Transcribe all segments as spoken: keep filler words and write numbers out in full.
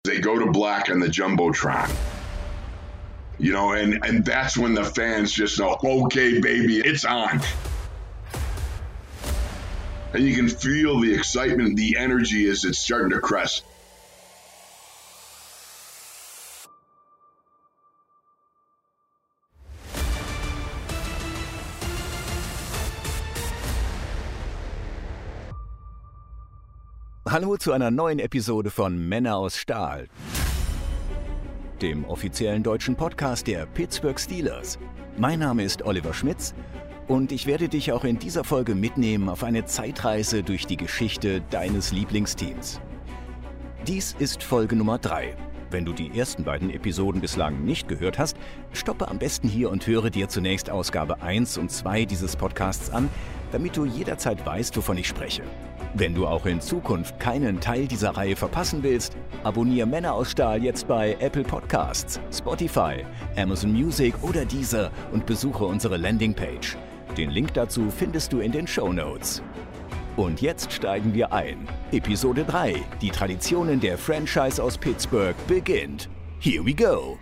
They go to black on the Jumbotron. You know, and, and that's when the fans just know, okay, baby, it's on. And you can feel the excitement, the energy as it's starting to crest. Hallo zu einer neuen Episode von Männer aus Stahl, dem offiziellen deutschen Podcast der Pittsburgh Steelers. Mein Name ist Oliver Schmitz und ich werde dich auch in dieser Folge mitnehmen auf eine Zeitreise durch die Geschichte deines Lieblingsteams. Dies ist Folge Nummer drei. Wenn du die ersten beiden Episoden bislang nicht gehört hast, stoppe am besten hier und höre dir zunächst Ausgabe eins und zwei dieses Podcasts an, damit du jederzeit weißt, wovon ich spreche. Wenn du auch in Zukunft keinen Teil dieser Reihe verpassen willst, abonniere Männer aus Stahl jetzt bei Apple Podcasts, Spotify, Amazon Music oder Deezer und besuche unsere Landingpage. Den Link dazu findest du in den Shownotes. Und jetzt steigen wir ein. Episode drei, die Traditionen der Franchise aus Pittsburgh, beginnt. Here we go!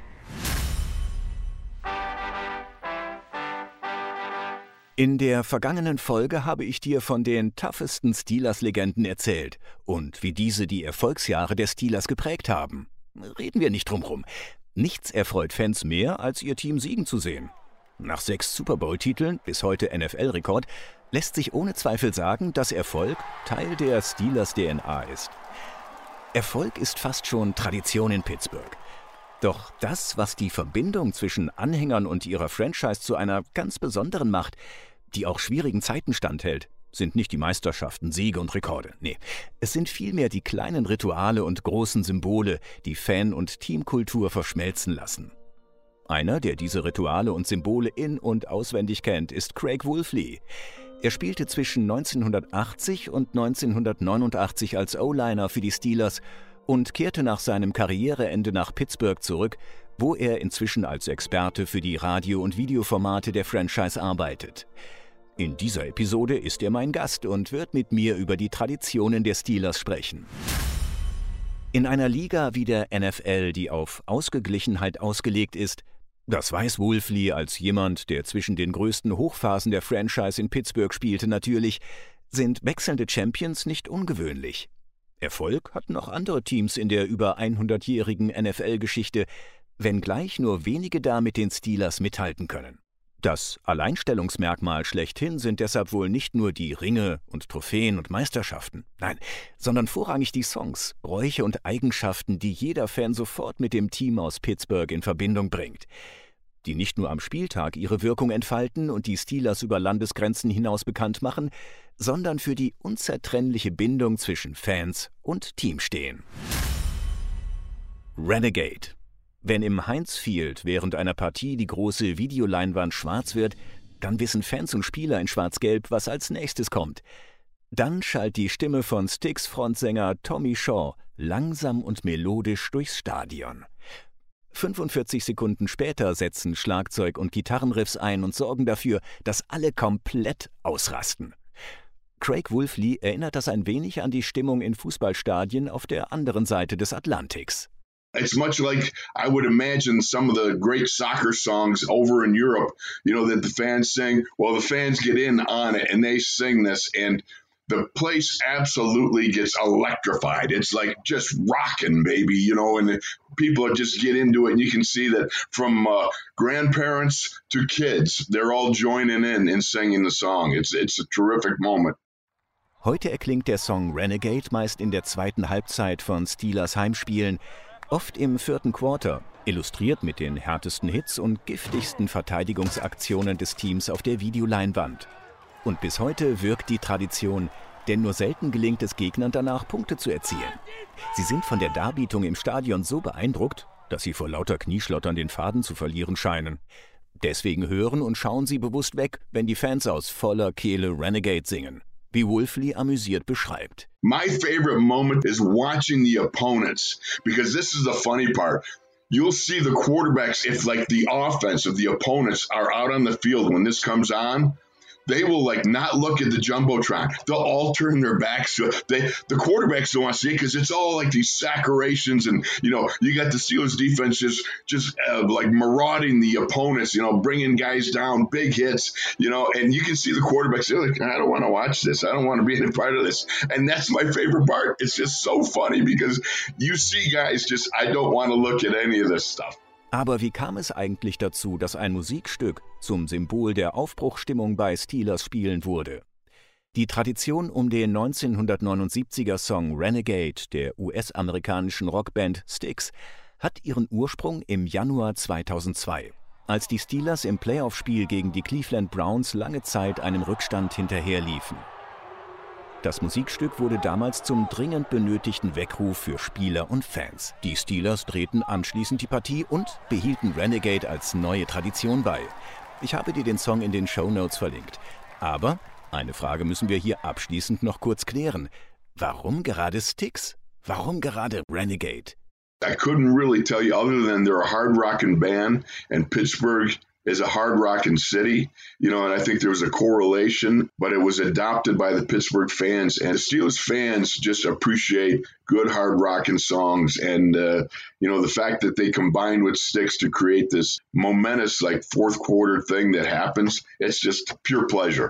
In der vergangenen Folge habe ich dir von den toughesten Steelers-Legenden erzählt und wie diese die Erfolgsjahre der Steelers geprägt haben. Reden wir nicht drum rum. Nichts erfreut Fans mehr, als ihr Team siegen zu sehen. Nach sechs Super Bowl-Titeln, bis heute N F L-Rekord, lässt sich ohne Zweifel sagen, dass Erfolg Teil der Steelers-D N A ist. Erfolg ist fast schon Tradition in Pittsburgh. Doch das, was die Verbindung zwischen Anhängern und ihrer Franchise zu einer ganz besonderen macht, die auch schwierigen Zeiten standhält, sind nicht die Meisterschaften, Siege und Rekorde. Nee, es sind vielmehr die kleinen Rituale und großen Symbole, die Fan- und Teamkultur verschmelzen lassen. Einer, der diese Rituale und Symbole in- und auswendig kennt, ist Craig Wolfley. Er spielte zwischen neunzehnhundertachtzig und neunzehnhundertneunundachtzig als O-Liner für die Steelers und kehrte nach seinem Karriereende nach Pittsburgh zurück, wo er inzwischen als Experte für die Radio- und Videoformate der Franchise arbeitet. In dieser Episode ist er mein Gast und wird mit mir über die Traditionen der Steelers sprechen. In einer Liga wie der N F L, die auf Ausgeglichenheit ausgelegt ist, das weiß Wolfley als jemand, der zwischen den größten Hochphasen der Franchise in Pittsburgh spielte, natürlich, sind wechselnde Champions nicht ungewöhnlich. Erfolg hatten auch andere Teams in der über hundertjährigen N F L-Geschichte, wenngleich nur wenige da mit den Steelers mithalten können. Das Alleinstellungsmerkmal schlechthin sind deshalb wohl nicht nur die Ringe und Trophäen und Meisterschaften, nein, sondern vorrangig die Songs, Bräuche und Eigenschaften, die jeder Fan sofort mit dem Team aus Pittsburgh in Verbindung bringt, die nicht nur am Spieltag ihre Wirkung entfalten und die Steelers über Landesgrenzen hinaus bekannt machen, sondern für die unzertrennliche Bindung zwischen Fans und Team stehen. Renegade. Wenn im Heinz Field während einer Partie die große Videoleinwand schwarz wird, dann wissen Fans und Spieler in Schwarz-Gelb, was als nächstes kommt. Dann schallt die Stimme von Styx-Frontsänger Tommy Shaw langsam und melodisch durchs Stadion. fünfundvierzig Sekunden später setzen Schlagzeug und Gitarrenriffs ein und sorgen dafür, dass alle komplett ausrasten. Craig Wolfley erinnert das ein wenig an die Stimmung in Fußballstadien auf der anderen Seite des Atlantiks. It's much like I would imagine some of the great soccer songs over in Europe, you know, that the fans sing. Well, the fans get in on it and they sing this and the place absolutely gets electrified. It's like just rocking, baby, you know, and people are just get into it. And you can see that from uh, grandparents to kids, they're all joining in and singing the song. It's, it's a terrific moment. Heute erklingt der Song Renegade meist in der zweiten Halbzeit von Steelers Heimspielen, oft im vierten Quarter, illustriert mit den härtesten Hits und giftigsten Verteidigungsaktionen des Teams auf der Videoleinwand. Und bis heute wirkt die Tradition, denn nur selten gelingt es Gegnern danach, Punkte zu erzielen. Sie sind von der Darbietung im Stadion so beeindruckt, dass sie vor lauter Knieschlottern den Faden zu verlieren scheinen. Deswegen hören und schauen sie bewusst weg, wenn die Fans aus voller Kehle Renegade singen, wie Wolfley amüsiert beschreibt. My favorite moment is watching the opponents, because this is the funny part. You'll see the quarterbacks, if like the offense of the opponents are out on the field when this comes on, they will like not look at the Jumbotron. They'll all turn their backs to it. They, the quarterbacks don't want to see it because it's all like these saccurations, and you know you got the Steelers defense just just uh, like marauding the opponents, you know, bringing guys down, big hits, you know, and you can see the quarterbacks. They're like, I don't want to watch this. I don't want to be a part of this. And that's my favorite part. It's just so funny because you see guys just, I don't want to look at any of this stuff. Aber wie kam es eigentlich dazu, dass ein Musikstück zum Symbol der Aufbruchsstimmung bei Steelers Spielen wurde? Die Tradition um den neunzehnhundertneunundsiebziger Song Renegade der U S-amerikanischen Rockband Styx hat ihren Ursprung im Januar zweitausendzwei, als die Steelers im Playoff-Spiel gegen die Cleveland Browns lange Zeit einem Rückstand hinterherliefen. Das Musikstück wurde damals zum dringend benötigten Weckruf für Spieler und Fans. Die Steelers drehten anschließend die Partie und behielten Renegade als neue Tradition bei. Ich habe dir den Song in den Shownotes verlinkt. Aber eine Frage müssen wir hier abschließend noch kurz klären. Warum gerade Styx? Warum gerade Renegade? I couldn't really tell you other than they're a hard rockin' band and Pittsburgh is a hard rockin' city, you know, and I think there was a correlation, but it was adopted by the Pittsburgh fans, and the Steelers fans just appreciate good hard rockin' songs, and uh, you know, the fact that they combined with Styx to create this momentous like fourth quarter thing that happens, it's just pure pleasure.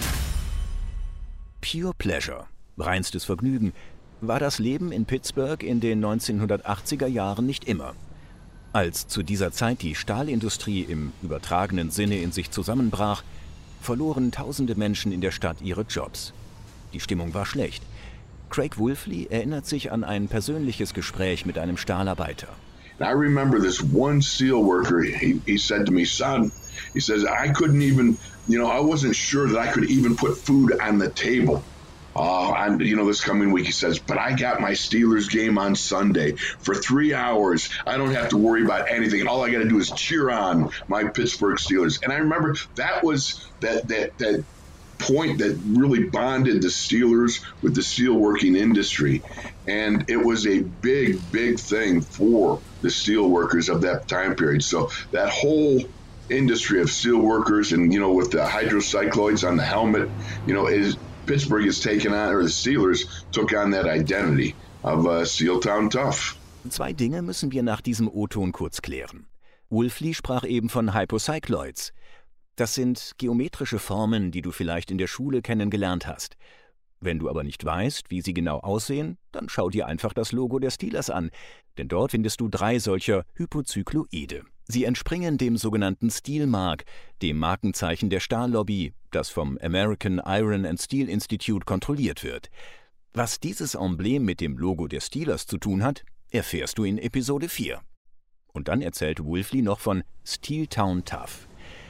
Pure Pleasure, reinstes Vergnügen, war das Leben in Pittsburgh in den neunzehnhundertachtziger Jahren nicht immer. Als zu dieser Zeit die Stahlindustrie im übertragenen Sinne in sich zusammenbrach, verloren tausende Menschen in der Stadt ihre Jobs. Die Stimmung war schlecht. Craig Wolfley erinnert sich an ein persönliches Gespräch mit einem Stahlarbeiter. I remember this one steel worker, he, he said to me, son, he says, I couldn't even, you know, I wasn't sure that I could even put food on the table. Oh, I'm, you know, this coming week, he says, but I got my Steelers game on Sunday for three hours. I don't have to worry about anything. All I got to do is cheer on my Pittsburgh Steelers. And I remember that was that that that point that really bonded the Steelers with the steelworking industry. And it was a big, big thing for the steelworkers of that time period. So that whole industry of steelworkers and, you know, with the hydrocycloids on the helmet, you know, is Pittsburgh has taken on, or the Steelers took on that identity of uh, Steeltown Tough. Zwei Dinge müssen wir nach diesem O-Ton kurz klären. Wolfley sprach eben von Hypocycloids. Das sind geometrische Formen, die du vielleicht in der Schule kennengelernt hast. Wenn du aber nicht weißt, wie sie genau aussehen, dann schau dir einfach das Logo der Steelers an, denn dort findest du drei solcher Hypozykloide. Sie entspringen dem sogenannten Steel Mark, dem Markenzeichen der Stahllobby, das vom American Iron and Steel Institute kontrolliert wird. Was dieses Emblem mit dem Logo der Steelers zu tun hat, erfährst du in Episode vier. Und dann erzählt Wolfley noch von Steeltown Tough.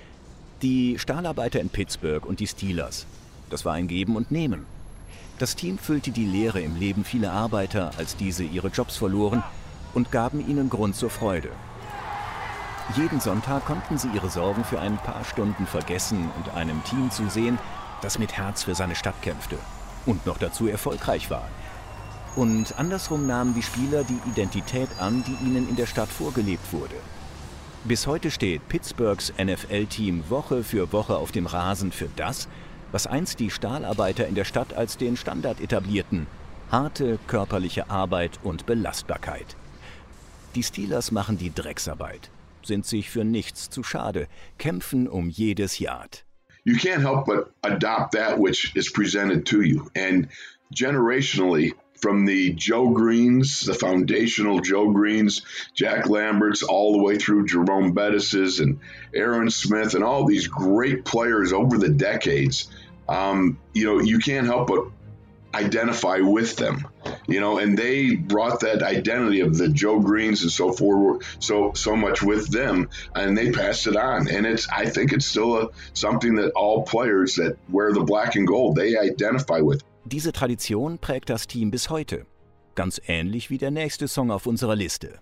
Die Stahlarbeiter in Pittsburgh und die Steelers, das war ein Geben und Nehmen. Das Team füllte die Leere im Leben vieler Arbeiter, als diese ihre Jobs verloren, und gaben ihnen Grund zur Freude. Jeden Sonntag konnten sie ihre Sorgen für ein paar Stunden vergessen und einem Team zusehen, das mit Herz für seine Stadt kämpfte und noch dazu erfolgreich war. Und andersrum nahmen die Spieler die Identität an, die ihnen in der Stadt vorgelebt wurde. Bis heute steht Pittsburghs N F L-Team Woche für Woche auf dem Rasen für das, was einst die Stahlarbeiter in der Stadt als den Standard etablierten: harte körperliche Arbeit und Belastbarkeit. Die Steelers machen die Drecksarbeit, sind sich für nichts zu schade, kämpfen um jedes Yard. You can't help but adopt that which is presented to you. And generationally, from the Joe Greens, the foundational Joe Greens, Jack Lamberts, all the way through Jerome Bettis's and Aaron Smith and all these great players over the decades, um, you know, you can't help but identify with them, you know, and they brought that identity of the Joe Greens and so forth, so so much with them, and they passed it on. And it's, I think it's still a, something that all players that wear the black and gold, they identify with. Diese Tradition prägt das Team bis heute. Ganz ähnlich wie der nächste Song auf unserer Liste.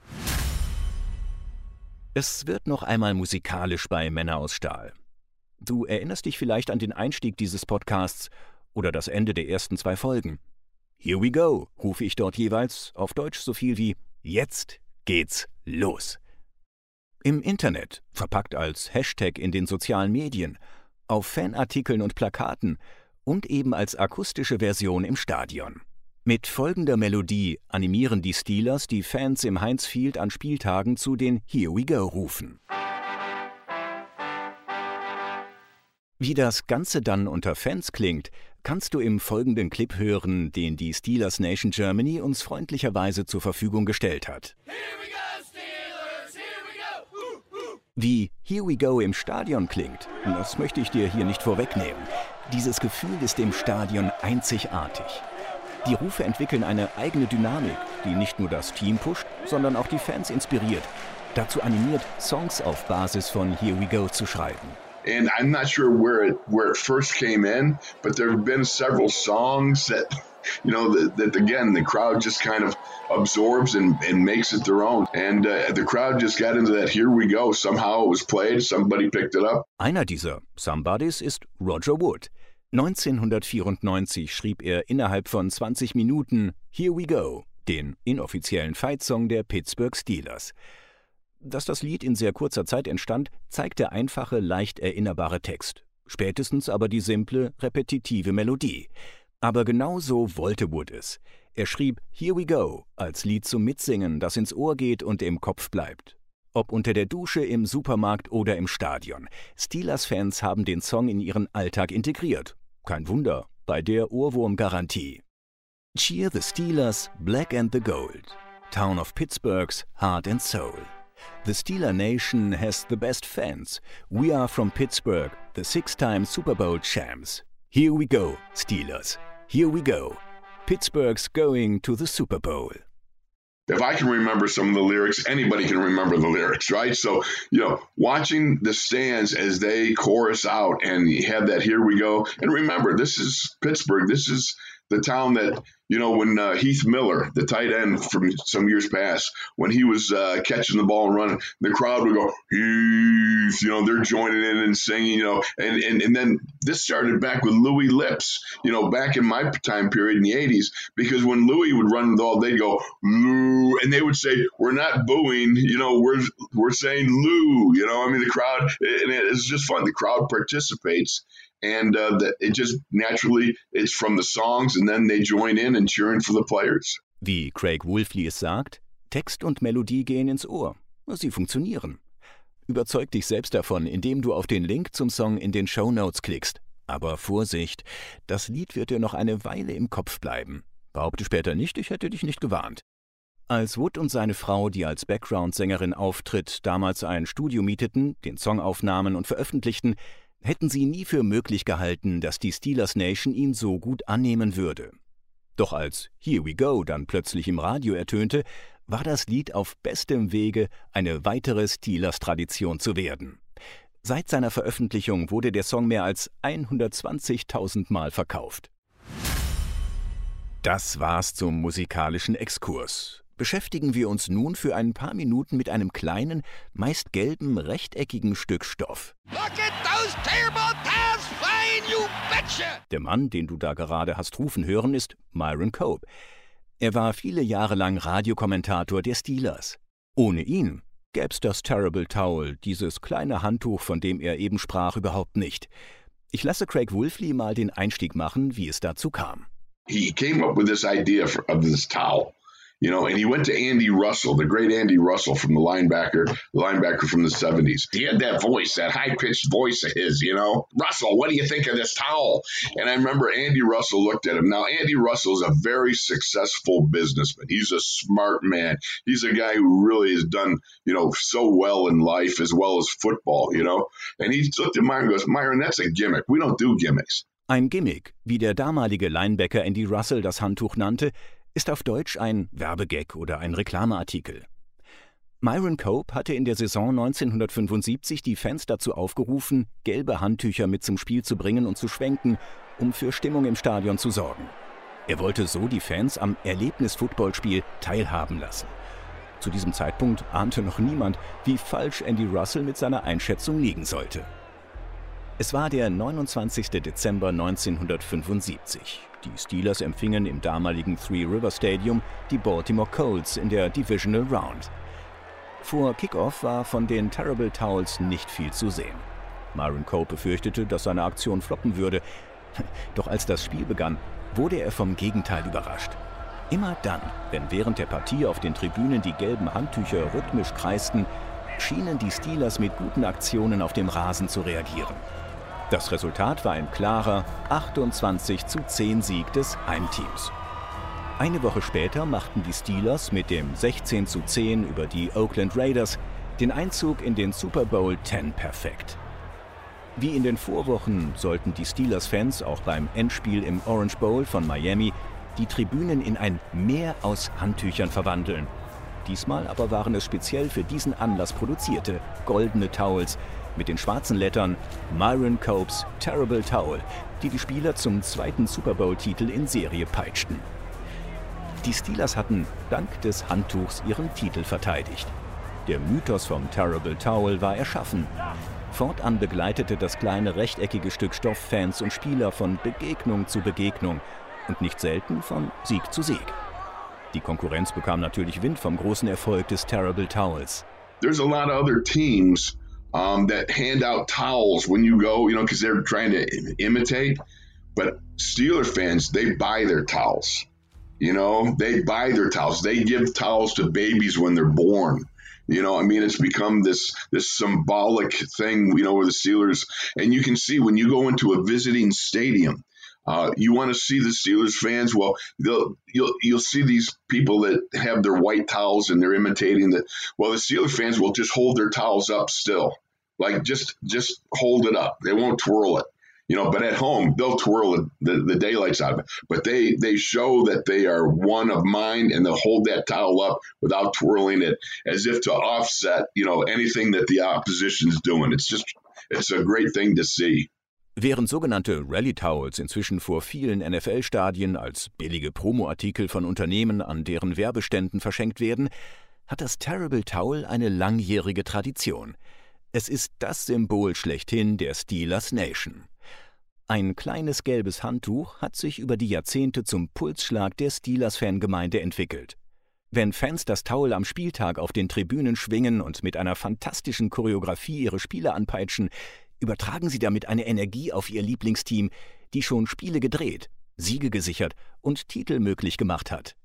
Es wird noch einmal musikalisch bei Männer aus Stahl. Du erinnerst dich vielleicht an den Einstieg dieses Podcasts oder das Ende der ersten zwei Folgen. Here we go, rufe ich dort jeweils auf Deutsch so viel wie Jetzt geht's los. Im Internet, verpackt als Hashtag in den sozialen Medien auf Fanartikeln und Plakaten und eben als akustische Version im Stadion. Mit folgender Melodie animieren die Steelers die Fans im Heinz Field an Spieltagen zu den Here We Go-Rufen. Wie das Ganze dann unter Fans klingt, kannst du im folgenden Clip hören, den die Steelers Nation Germany uns freundlicherweise zur Verfügung gestellt hat. Here we go, Steelers, here we go. Uh, uh. Wie Here We Go im Stadion klingt, das möchte ich dir hier nicht vorwegnehmen. Dieses Gefühl ist im Stadion einzigartig. Die Rufe entwickeln eine eigene Dynamik, die nicht nur das Team pusht, sondern auch die Fans inspiriert, dazu animiert, Songs auf Basis von Here We Go zu schreiben. And I'm not sure where it where it first came in, but there have been several songs that, you know, that, that again, the crowd just kind of absorbs and, and makes it their own. And uh, the crowd just got into that Here We Go. Somehow it was played, somebody picked it up. Einer dieser Somebodies ist Roger Wood. neunzehnhundertvierundneunzig schrieb er innerhalb von zwanzig Minuten Here We Go, den inoffiziellen Fight-Song der Pittsburgh Steelers. Dass das Lied in sehr kurzer Zeit entstand, zeigt der einfache, leicht erinnerbare Text. Spätestens aber die simple, repetitive Melodie. Aber genau so wollte Wood es. Er schrieb Here We Go als Lied zum Mitsingen, das ins Ohr geht und im Kopf bleibt. Ob unter der Dusche, im Supermarkt oder im Stadion. Steelers-Fans haben den Song in ihren Alltag integriert. Kein Wunder, bei der Ohrwurm-Garantie. Cheer the Steelers, Black and the Gold. Town of Pittsburgh's Heart and Soul. The Steeler Nation has the best fans. We are from Pittsburgh, the six-time Super Bowl champs. Here we go, Steelers. Here we go. Pittsburgh's going to the Super Bowl. If I can remember some of the lyrics, anybody can remember the lyrics, right? So, you know, watching the stands as they chorus out and you have that Here We Go. And remember, this is Pittsburgh. This is the town that, you know, when uh, Heath Miller, the tight end from some years past, when he was uh, catching the ball and running, the crowd would go, Heath, you know, they're joining in and singing, you know, and, and, and then this started back with Louis Lips, you know, back in my time period in the eighties, because when Louis would run the ball, they'd go, Lou, and they would say, we're not booing, you know, we're, we're saying Lou, you know, I mean, the crowd, and it's just fun. The crowd participates. And uh, that it just naturally, it's from the songs and then they join in and cheering for the players. Wie Craig Wolfley es sagt, Text und Melodie gehen ins Ohr. Sie funktionieren. Überzeug dich selbst davon, indem du auf den Link zum Song in den Shownotes klickst. Aber Vorsicht, das Lied wird dir noch eine Weile im Kopf bleiben. Behaupte später nicht, ich hätte dich nicht gewarnt. Als Wood und seine Frau, die als Background-Sängerin auftritt, damals ein Studio mieteten, den Song aufnahmen und veröffentlichten, hätten sie nie für möglich gehalten, dass die Steelers Nation ihn so gut annehmen würde. Doch als Here We Go dann plötzlich im Radio ertönte, war das Lied auf bestem Wege, eine weitere Steelers-Tradition zu werden. Seit seiner Veröffentlichung wurde der Song mehr als hundertzwanzigtausend Mal verkauft. Das war's zum musikalischen Exkurs. Beschäftigen wir uns nun für ein paar Minuten mit einem kleinen, meist gelben, rechteckigen Stück Stoff. Look at those terrible towels flying, you betcha! Der Mann, den du da gerade hast rufen hören, ist Myron Cope. Er war viele Jahre lang Radiokommentator der Steelers. Ohne ihn gäb's das Terrible Towel, dieses kleine Handtuch, von dem er eben sprach, überhaupt nicht. Ich lasse Craig Wolfley mal den Einstieg machen, wie es dazu kam. He came up with this idea for, of this towel. You know, and he went to Andy Russell, the great Andy Russell from the linebacker, the linebacker from the seventies. He had that voice, that high-pitched voice of his, you know. Russell, what do you think of this towel? And I remember Andy Russell looked at him. Now, Andy Russell is a very successful businessman. He's a smart man. He's a guy who really has done, you know, so well in life as well as football, you know. And he looked at Myron and goes, Myron, that's a gimmick. We don't do gimmicks. Ein Gimmick, wie der damalige Linebacker Andy Russell das Handtuch nannte, ist auf Deutsch ein Werbegag oder ein Reklameartikel. Myron Cope hatte in der Saison neunzehnhundertfünfundsiebzig die Fans dazu aufgerufen, gelbe Handtücher mit zum Spiel zu bringen und zu schwenken, um für Stimmung im Stadion zu sorgen. Er wollte so die Fans am Erlebnis-Footballspiel teilhaben lassen. Zu diesem Zeitpunkt ahnte noch niemand, wie falsch Andy Russell mit seiner Einschätzung liegen sollte. Es war der neunundzwanzigster Dezember neunzehnhundertfünfundsiebzig. Die Steelers empfingen im damaligen Three River Stadium die Baltimore Colts in der Divisional Round. Vor Kickoff war von den Terrible Towels nicht viel zu sehen. Myron Cope befürchtete, dass seine Aktion floppen würde. Doch als das Spiel begann, wurde er vom Gegenteil überrascht. Immer dann, wenn während der Partie auf den Tribünen die gelben Handtücher rhythmisch kreisten, schienen die Steelers mit guten Aktionen auf dem Rasen zu reagieren. Das Resultat war ein klarer achtundzwanzig zu zehn Sieg des Heimteams. Eine Woche später machten die Steelers mit dem sechzehn zu zehn über die Oakland Raiders den Einzug in den Super Bowl zehn perfekt. Wie in den Vorwochen sollten die Steelers-Fans auch beim Endspiel im Orange Bowl von Miami die Tribünen in ein Meer aus Handtüchern verwandeln. Diesmal aber waren es speziell für diesen Anlass produzierte goldene Towels mit den schwarzen Lettern Myron Copes Terrible Towel, die die Spieler zum zweiten Super Bowl-Titel in Serie peitschten. Die Steelers hatten dank des Handtuchs ihren Titel verteidigt. Der Mythos vom Terrible Towel war erschaffen. Fortan begleitete das kleine rechteckige Stück Stoff Fans und Spieler von Begegnung zu Begegnung und nicht selten von Sieg zu Sieg. Die Konkurrenz bekam natürlich Wind vom großen Erfolg des Terrible Towels. There's a lot of other teams um, that hand out towels when you go, you know, because they're trying to imitate. But Steeler fans, they buy their towels. You know, they buy their towels. They give towels to babies when they're born. You know, I mean, it's become this this symbolic thing, you know, where the Steelers, and you can see when you go into a visiting stadium, uh, you want to see the Steelers fans. Well, they'll, you'll you'll see these people that have their white towels and they're imitating the. Well, the Steelers fans will just hold their towels up still, like just just hold it up. They won't twirl it. You know, but at home, they'll twirl the, the daylights out of it. But they, they show that they are one of mine, and they'll hold that towel up without twirling it, as if to offset, you know, anything that the opposition's doing. It's just, it's a great thing to see. Während sogenannte Rally-Towels inzwischen vor vielen N F L-Stadien als billige Promoartikel von Unternehmen an deren Werbeständen verschenkt werden, hat das Terrible Towel eine langjährige Tradition. Es ist das Symbol schlechthin der Steelers Nation. Ein kleines gelbes Handtuch hat sich über die Jahrzehnte zum Pulsschlag der Steelers-Fangemeinde entwickelt. Wenn Fans das Towel am Spieltag auf den Tribünen schwingen und mit einer fantastischen Choreografie ihre Spieler anpeitschen, übertragen sie damit eine Energie auf ihr Lieblingsteam, die schon Spiele gedreht, Siege gesichert und Titel möglich gemacht hat.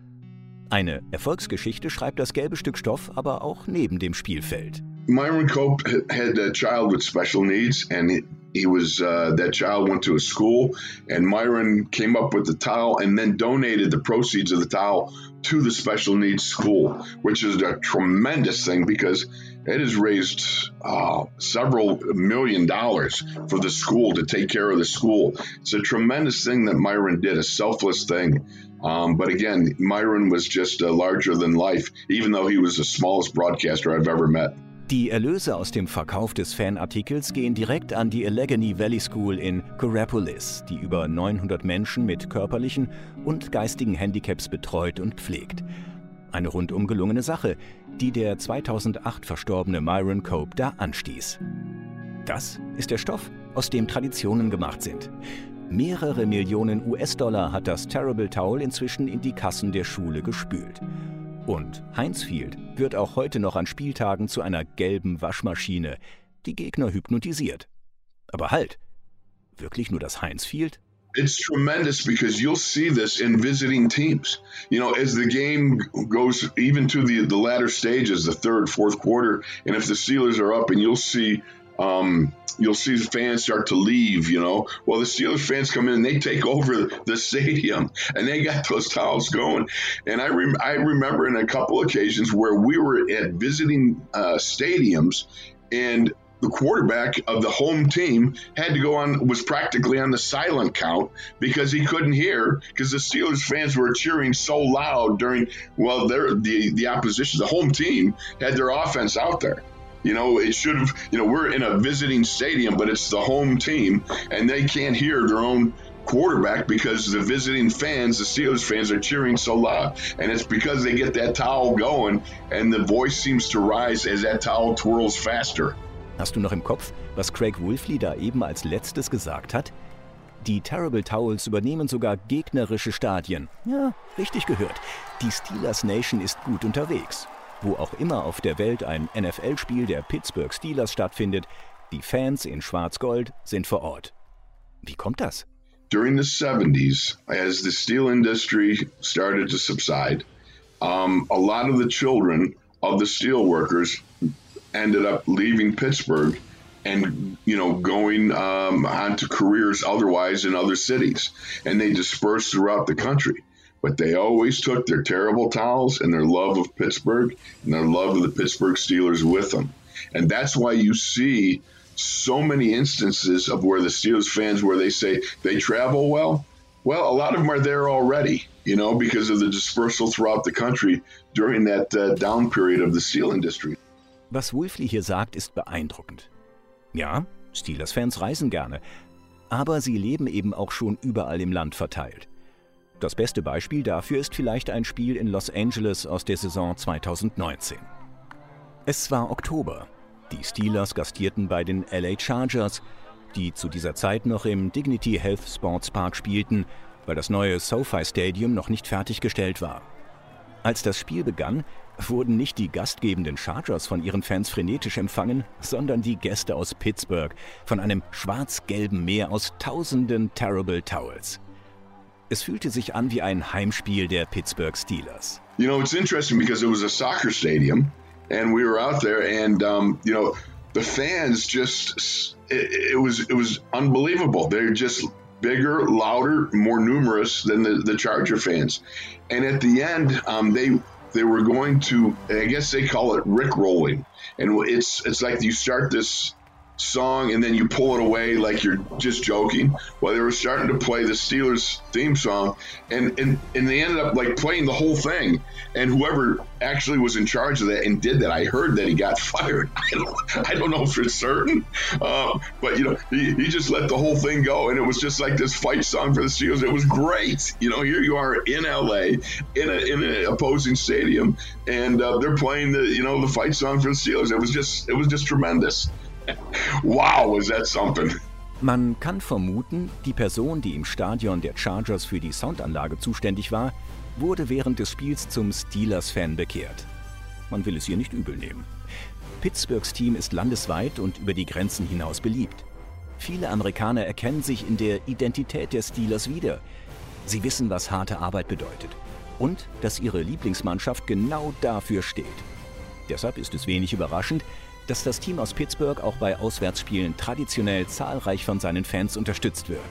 Eine Erfolgsgeschichte schreibt das gelbe Stück Stoff aber auch neben dem Spielfeld. Myron Cope had a child with special needs, and he, he was uh, that child went to a school, and Myron came up with the towel and then donated the proceeds of the towel to the special needs school, which is a tremendous thing because it has raised uh, several million dollars for the school to take care of the school. It's a tremendous thing that Myron did, a selfless thing. Um, but again, Myron was just uh, larger than life, even though he was the smallest broadcaster I've ever met. Die Erlöse aus dem Verkauf des Fanartikels gehen direkt an die Allegheny Valley School in Coraopolis, die über neunhundert Menschen mit körperlichen und geistigen Handicaps betreut und pflegt. Eine rundum gelungene Sache, die der zweitausendacht verstorbene Myron Cope da anstieß. Das ist der Stoff, aus dem Traditionen gemacht sind. Mehrere Millionen U S-Dollar hat das Terrible Towel inzwischen in die Kassen der Schule gespült. Und Heinz Field wird auch heute noch an Spieltagen zu einer gelben Waschmaschine, die Gegner hypnotisiert. Aber halt, wirklich nur das Heinz Field? It's tremendous because you'll see this in visiting teams. You know, as the game goes even to the, the latter stages, the third, fourth quarter, and if the Steelers are up and you'll see um, you'll see fans start to leave, you know. Well, the Steelers fans come in and they take over the stadium and they got those towels going. And I, rem- I remember in a couple occasions where we were at visiting uh, stadiums and the quarterback of the home team had to go on, was practically on the silent count because he couldn't hear because the Steelers fans were cheering so loud during, well, the, the opposition, the home team had their offense out there. You know, it should have, you know, we're in a visiting stadium, but it's the home team and they can't hear their own quarterback because the visiting fans, the Steelers fans, are cheering so loud. And it's because they get that towel going and the voice seems to rise as that towel twirls faster. Hast du noch im Kopf, was Craig Wolfley da eben als letztes gesagt hat? Die Terrible Towels übernehmen sogar gegnerische Stadien. Ja, richtig gehört. Die Steelers Nation ist gut unterwegs. Wo auch immer auf der Welt ein N F L-Spiel der Pittsburgh Steelers stattfindet, Die Fans in Schwarz-Gold sind vor Ort. Wie kommt das? During the seventies, as the steel industry started to subside, um, a lot of the children of the steel workers ended up leaving Pittsburgh and, you know, going um, on to careers otherwise in other cities. And they dispersed throughout the country. But they always took their terrible towels and their love of Pittsburgh and their love of the Pittsburgh Steelers with them. And that's why you see so many instances of where the Steelers fans, where they say they travel well. Well, a lot of them are there already, you know, because of the dispersal throughout the country during that uh, down period of the steel industry. Was Wolfley hier sagt, ist beeindruckend. Ja, Steelers-Fans reisen gerne, aber sie leben eben auch schon überall im Land verteilt. Das beste Beispiel dafür ist vielleicht ein Spiel in Los Angeles aus der Saison zweitausendneunzehn. Es war Oktober. Die Steelers gastierten bei den L A Chargers, die zu dieser Zeit noch im Dignity Health Sports Park spielten, weil das neue SoFi Stadium noch nicht fertiggestellt war. Als das Spiel begann, wurden nicht die gastgebenden Chargers von ihren Fans frenetisch empfangen, sondern die Gäste aus Pittsburgh von einem schwarz-gelben Meer aus tausenden Terrible Towels. Es fühlte sich an wie ein Heimspiel der Pittsburgh Steelers. You know, it's interesting because it was a soccer stadium. And we were out there, and um, you know, the fans just—it it was it was unbelievable. They're just bigger, louder, more numerous than the, the Charger fans. And at the end, um, they they were going to, I guess they call it Rickrolling, and it's it's like you start this song and then you pull it away like you're just joking. Well, they were starting to play the Steelers theme song, and and and they ended up like playing the whole thing. And whoever actually was in charge of that and did that, I heard that he got fired. I don't, I don't know if it's certain, um, but you know, he, he just let the whole thing go, and it was just like this fight song for the Steelers. It was great. You know, here you are in L A in a in an opposing stadium, and uh, they're playing the you know the fight song for the Steelers. It was just it was just tremendous. Wow, was that something. Man kann vermuten, die Person, die im Stadion der Chargers für die Soundanlage zuständig war, wurde während des Spiels zum Steelers-Fan bekehrt. Man will es ihr nicht übel nehmen. Pittsburghs Team ist landesweit und über die Grenzen hinaus beliebt. Viele Amerikaner erkennen sich in der Identität der Steelers wieder. Sie wissen, was harte Arbeit bedeutet und dass ihre Lieblingsmannschaft genau dafür steht. Deshalb ist es wenig überraschend, dass das Team aus Pittsburgh auch bei Auswärtsspielen traditionell zahlreich von seinen Fans unterstützt wird.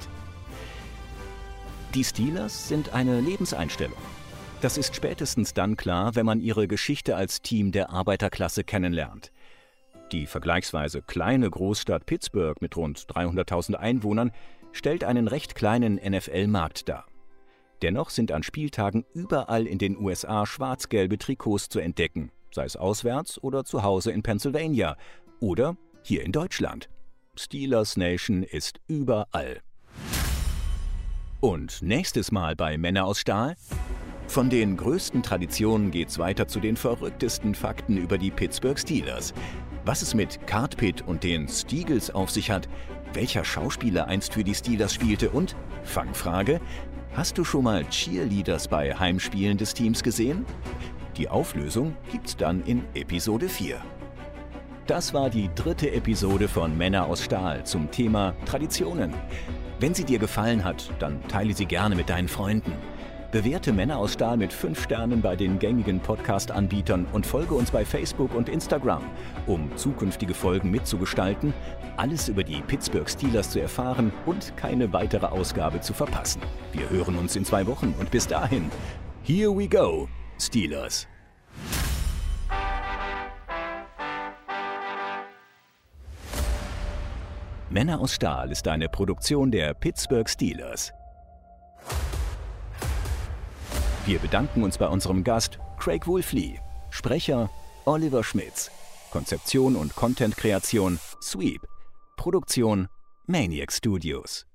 Die Steelers sind eine Lebenseinstellung. Das ist spätestens dann klar, wenn man ihre Geschichte als Team der Arbeiterklasse kennenlernt. Die vergleichsweise kleine Großstadt Pittsburgh mit rund dreihunderttausend Einwohnern stellt einen recht kleinen N F L-Markt dar. Dennoch sind an Spieltagen überall in den U S A schwarz-gelbe Trikots zu entdecken, sei es auswärts oder zu Hause in Pennsylvania oder hier in Deutschland. Steelers Nation ist überall. Und nächstes Mal bei Männer aus Stahl? Von den größten Traditionen geht's weiter zu den verrücktesten Fakten über die Pittsburgh Steelers. Was es mit Cart Pit und den Steagles auf sich hat, welcher Schauspieler einst für die Steelers spielte und, Fangfrage, hast du schon mal Cheerleaders bei Heimspielen des Teams gesehen? Die Auflösung gibt's dann in Episode vier. Das war die dritte Episode von Männer aus Stahl zum Thema Traditionen. Wenn sie dir gefallen hat, dann teile sie gerne mit deinen Freunden. Bewerte Männer aus Stahl mit fünf Sternen bei den gängigen Podcast-Anbietern und folge uns bei Facebook und Instagram, um zukünftige Folgen mitzugestalten, alles über die Pittsburgh Steelers zu erfahren und keine weitere Ausgabe zu verpassen. Wir hören uns in zwei Wochen und bis dahin, here we go, Steelers! Männer aus Stahl ist eine Produktion der Pittsburgh Steelers. Wir bedanken uns bei unserem Gast Craig Wolfley, Sprecher Oliver Schmitz, Konzeption und Content-Kreation Sweep, Produktion Maniac Studios.